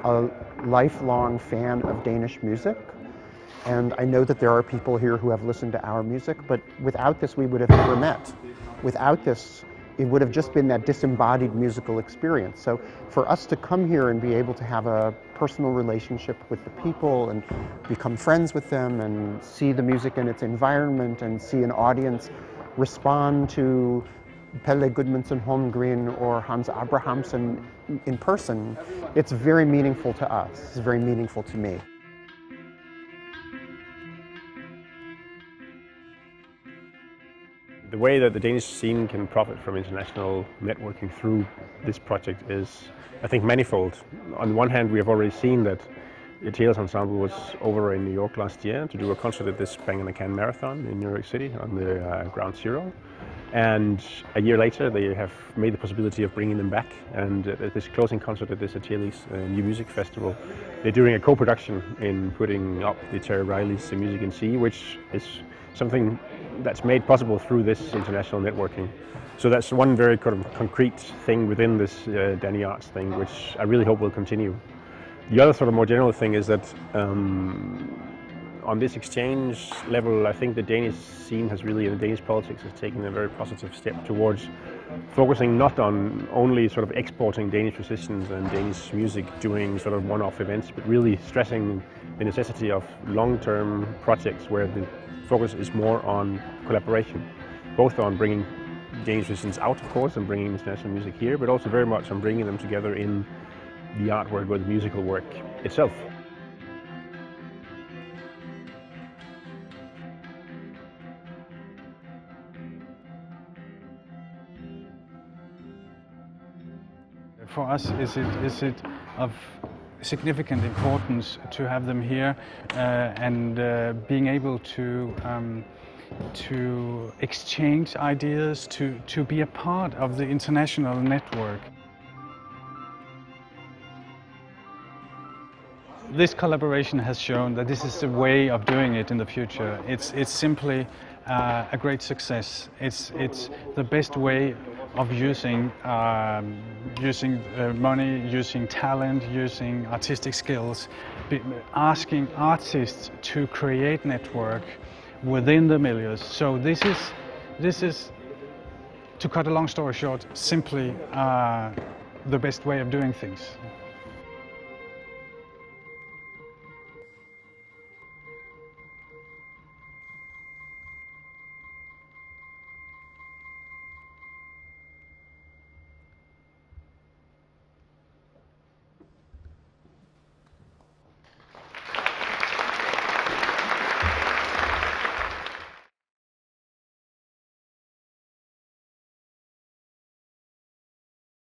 a lifelong fan of Danish music, and I know that there are people here who have listened to our music, but without this we would have never met. Without this, it would have just been that disembodied musical experience. So for us to come here and be able to have a personal relationship with the people and become friends with them and see the music in its environment and see an audience respond to Pelle Gudmundsson Holmgren or Hans Abrahamsen in person, it's very meaningful to us. It's very meaningful to me. The way that the Danish scene can profit from international networking through this project is, I think, manifold. On one hand, we have already seen that the Tales Ensemble was over in New York last year to do a concert at this Bang & Can Marathon in New York City on the Ground Zero. And a year later, they have made the possibility of bringing them back. And at this closing concert at this Achilles New Music Festival, they're doing a co-production in putting up the Terry Riley's Music in C, which is something that's made possible through this international networking. So that's one very kind of concrete thing within this Dani Arts thing, which I really hope will continue. The other sort of more general thing is that on this exchange level, I think the Danish scene has really, and the Danish politics has taken a very positive step towards focusing not on only sort of exporting Danish musicians and Danish music doing sort of one-off events, but really stressing the necessity of long-term projects where the focus is more on collaboration, both on bringing Danish musicians out, of course, and bringing international music here, but also very much on bringing them together in the artwork or the musical work itself. For us, is it of significant importance to have them here and being able to exchange ideas, to be a part of the international network. This collaboration has shown that this is the way of doing it in the future. It's simply a great success. It's the best way of using money, using talent, using artistic skills, asking artists to create network within the milieux. So this is, to cut a long story short, simply the best way of doing things.